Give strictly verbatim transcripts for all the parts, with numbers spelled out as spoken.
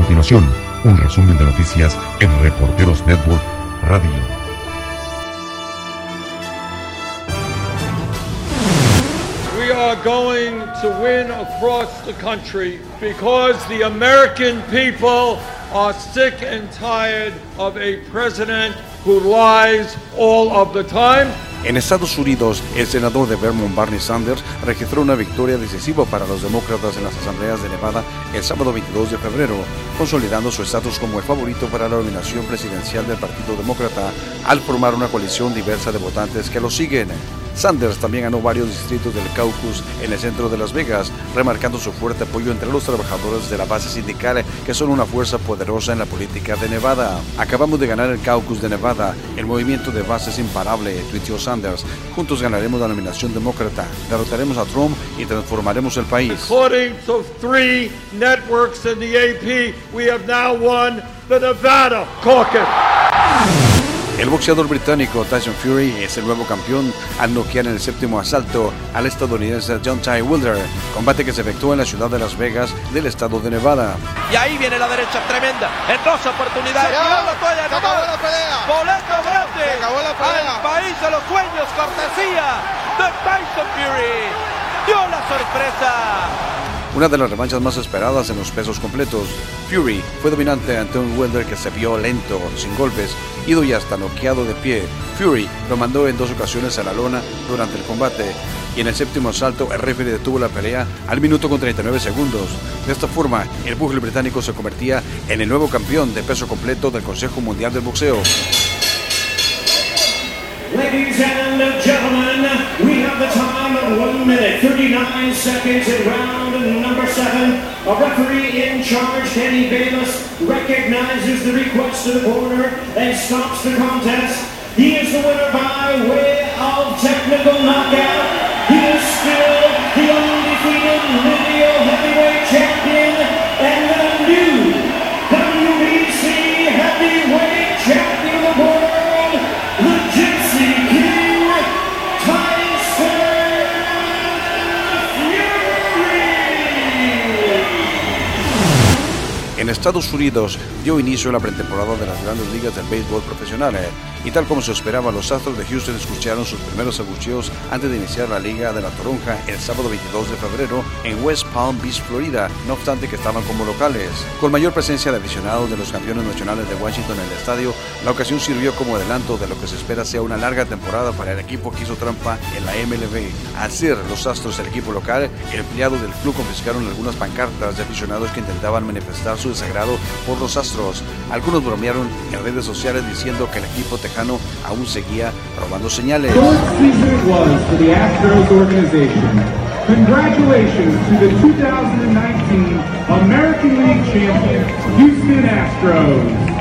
continuación, un resumen de noticias en Reporteros Network Radio. We are going to win across the country because the American people are sick and tired of a president who lies all of the time. En Estados Unidos, el senador de Vermont, Bernie Sanders, registró una victoria decisiva para los demócratas en las asambleas de Nevada el sábado veintidós de febrero, consolidando su estatus como el favorito para la nominación presidencial del Partido Demócrata al formar una coalición diversa de votantes que lo siguen. Sanders también ganó varios distritos del caucus en el centro de Las Vegas, remarcando su fuerte apoyo entre los trabajadores de la base sindical, que son una fuerza poderosa en la política de Nevada. Acabamos de ganar el caucus de Nevada, el movimiento de base es imparable, tuiteó Sanders. Juntos ganaremos la nominación demócrata, derrotaremos a Trump y transformaremos el país. According to three networks in the A P, we have now won the Nevada caucus. El boxeador británico Tyson Fury es el nuevo campeón al noquear en el séptimo asalto al estadounidense Deontay Wilder, combate que se efectuó en la ciudad de Las Vegas del estado de Nevada. Y ahí viene la derecha tremenda, en dos oportunidades, tirando la toalla, se acabó la pelea, boleto grande, se acabó la pelea. Al país de los sueños, cortesía de Tyson Fury, dio la sorpresa. Una de las revanchas más esperadas en los pesos completos. Fury fue dominante ante un Wilder que se vio lento, sin golpes, ido y hasta noqueado de pie. Fury lo mandó en dos ocasiones a la lona durante el combate, y en el séptimo asalto el referee detuvo la pelea al minuto con treinta y nueve segundos. De esta forma, el pugil británico se convertía en el nuevo campeón de peso completo del Consejo Mundial del Boxeo. Ladies and gentlemen, we have the time of one minute, thirty-nine seconds in round number seven. A referee in charge, Kenny Bayless, recognizes the request to the corner and stops the contest. He is the winner by way of technical knockout. He is still the undefeated lineal heavyweight champion and the new W B C heavyweight champion of the world, the Gypsy King, Tyson Fury. En Estados Unidos dio inicio la pretemporada de las grandes ligas del béisbol profesional, eh, y tal como se esperaba, los Astros de Houston escucharon sus primeros abucheos antes de iniciar la Liga de la Toronja el sábado veintidós de febrero en West Palm Beach, Florida, no obstante que estaban como locales. Con mayor presencia de aficionados de los campeones nacionales de Washington en el estadio, la ocasión sirvió como adelanto de lo que se espera sea una larga temporada para el equipo que hizo trampa en la M L B. Al ser los Astros el equipo local, empleados del club confiscaron algunas pancartas de aficionados que intentaban manifestar su desagrado por los Astros. Algunos bromearon en redes sociales diciendo que el equipo tejano aún seguía robando señales. Congratulations to the two thousand nineteen American League champion, Houston Astros.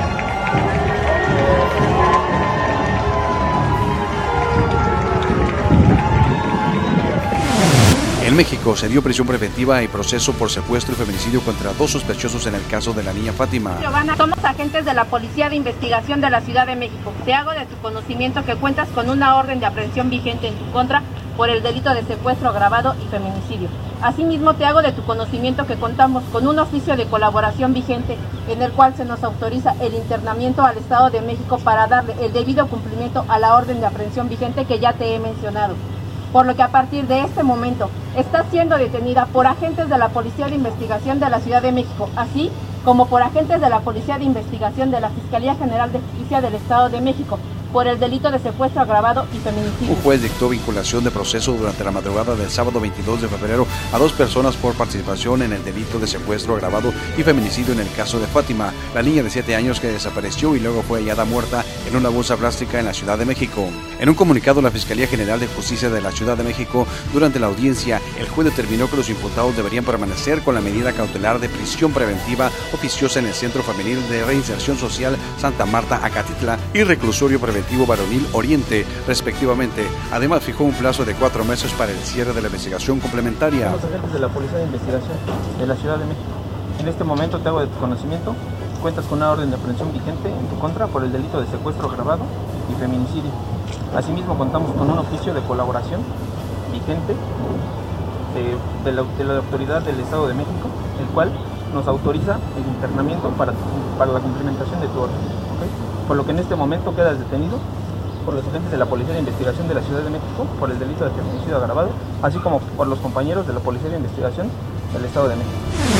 En México se dio prisión preventiva y proceso por secuestro y feminicidio contra dos sospechosos en el caso de la niña Fátima. Giovanna, somos agentes de la Policía de Investigación de la Ciudad de México. Te hago de tu conocimiento que cuentas con una orden de aprehensión vigente en tu contra por el delito de secuestro agravado y feminicidio. Asimismo, te hago de tu conocimiento que contamos con un oficio de colaboración vigente en el cual se nos autoriza el internamiento al Estado de México para darle el debido cumplimiento a la orden de aprehensión vigente que ya te he mencionado. Por lo que a partir de este momento está siendo detenida por agentes de la Policía de Investigación de la Ciudad de México, así como por agentes de la Policía de Investigación de la Fiscalía General de Justicia del Estado de México, por el delito de secuestro agravado y feminicidio. Un juez dictó vinculación de proceso durante la madrugada del sábado veintidós de febrero a dos personas por participación en el delito de secuestro agravado y feminicidio en el caso de Fátima, la niña de siete años que desapareció y luego fue hallada muerta en una bolsa plástica en la Ciudad de México. En un comunicado, la Fiscalía General de Justicia de la Ciudad de México, durante la audiencia, el juez determinó que los imputados deberían permanecer con la medida cautelar de prisión preventiva oficiosa en el Centro Femenil de Reinserción Social Santa Marta, Acatitla, y reclusorio preventivo Varonil Oriente, respectivamente. Además, fijó un plazo de cuatro meses para el cierre de la investigación complementaria. Somos agentes de la Policía de Investigación de la Ciudad de México. En este momento te hago de tu conocimiento, cuentas con una orden de aprehensión vigente en tu contra por el delito de secuestro agravado y feminicidio. Asimismo, contamos con un oficio de colaboración vigente de, de, la, de la autoridad del Estado de México, el cual nos autoriza el internamiento para, para la cumplimentación de tu orden, ¿okay? Por lo que en este momento quedas detenido por los agentes de la Policía de Investigación de la Ciudad de México por el delito de feminicidio agravado, así como por los compañeros de la Policía de Investigación del Estado de México.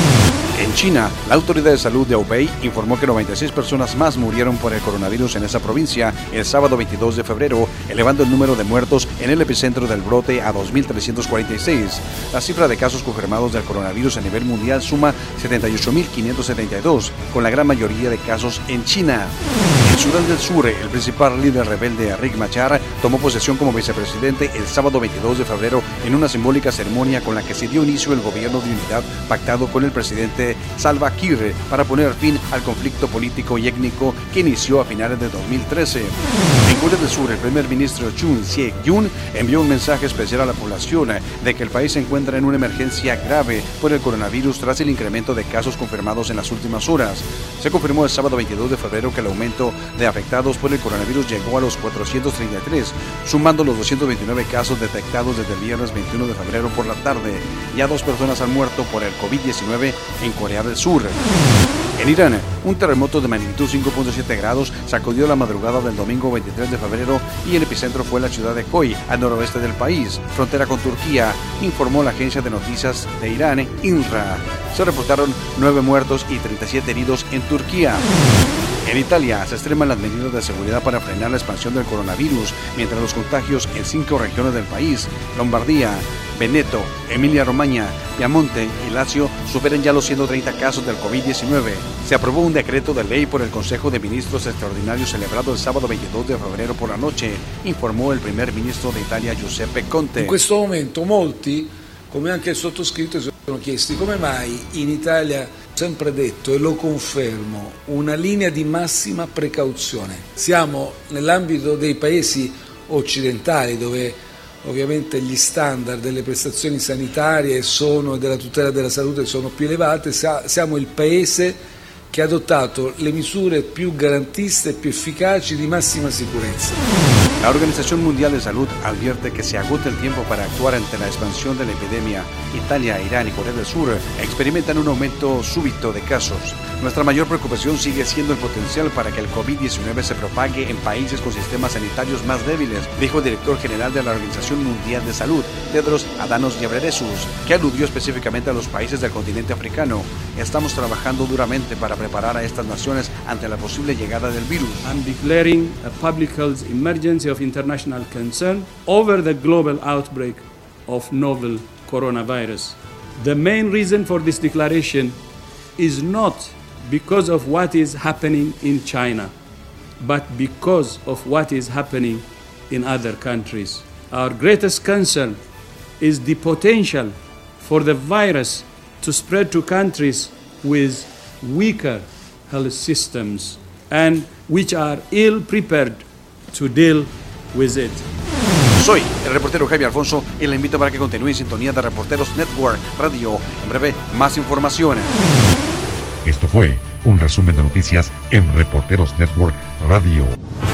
En China, la Autoridad de Salud de Hubei informó que noventa y seis personas más murieron por el coronavirus en esa provincia el sábado veintidós de febrero, elevando el número de muertos en el epicentro del brote a dos mil trescientos cuarenta y seis. La cifra de casos confirmados del coronavirus a nivel mundial suma setenta y ocho mil quinientos setenta y dos, con la gran mayoría de casos en China. En Sudán del Sur, el principal líder rebelde Riek Machar tomó posesión como vicepresidente el sábado veintidós de febrero en una simbólica ceremonia con la que se dio inicio el gobierno de unidad pactado con el presidente Salva Kiir para poner fin al conflicto político y étnico que inició a finales de dos mil trece. En Corea del Sur, el primer ministro Chun Sik-yun envió un mensaje especial a la población de que el país se encuentra en una emergencia grave por el coronavirus tras el incremento de casos confirmados en las últimas horas. Se confirmó el sábado veintidós de febrero que el aumento de afectados por el coronavirus llegó a los cuatrocientos treinta y tres, sumando los doscientos veintinueve casos detectados desde el viernes veintiuno de febrero por la tarde. Ya dos personas han muerto por el COVID diecinueve en Corea del Sur. En Irán, un terremoto de magnitud cinco punto siete grados sacudió la madrugada del domingo veintitrés de febrero y el epicentro fue la ciudad de Koy, al noroeste del país, frontera con Turquía, informó la agencia de noticias de Irán, INRA. Se reportaron nueve muertos y treinta y siete heridos en Turquía. En Italia se extreman las medidas de seguridad para frenar la expansión del coronavirus, mientras los contagios en cinco regiones del país, Lombardía, Veneto, Emilia-Romagna, Piamonte y Lazio, superan ya los ciento treinta casos del COVID diecinueve. Se aprobó un decreto de ley por el Consejo de Ministros Extraordinario celebrado el sábado veintidós de febrero por la noche, informó el primer ministro de Italia Giuseppe Conte. In questo momento molti, come anche il sottoscritto, si sono chiesti come mai in Italia, sempre detto e lo confermo, una linea di massima precauzione. Siamo nell'ambito dei paesi occidentali dove ovviamente gli standard delle prestazioni sanitarie sono, e della tutela della salute sono più elevate. Siamo il paese che ha adottato le misure più garantiste e più efficaci di massima sicurezza. La Organización Mundial de Salud advierte que se agota el tiempo para actuar ante la expansión de la epidemia. Italia, Irán y Corea del Sur experimentan un aumento súbito de casos. Nuestra mayor preocupación sigue siendo el potencial para que el COVID diecinueve se propague en países con sistemas sanitarios más débiles, dijo el director general de la Organización Mundial de Salud, Tedros Adhanom Ghebreyesus, que aludió específicamente a los países del continente africano. Estamos trabajando duramente para preparar a estas naciones ante la posible llegada del virus. I'm declaring a public health emergency of international concern over the global outbreak of novel coronavirus. The main reason for this declaration is not because of what is happening in China, but because of what is happening in other countries. Our greatest concern is the potential for the virus to spread to countries with weaker health systems and which are ill prepared to deal with it. Soy el reportero Jaime Alfonso y le invito para que continúe en sintonía de Reporteros Network Radio. En breve, más información. Esto fue un resumen de noticias en Reporteros Network Radio.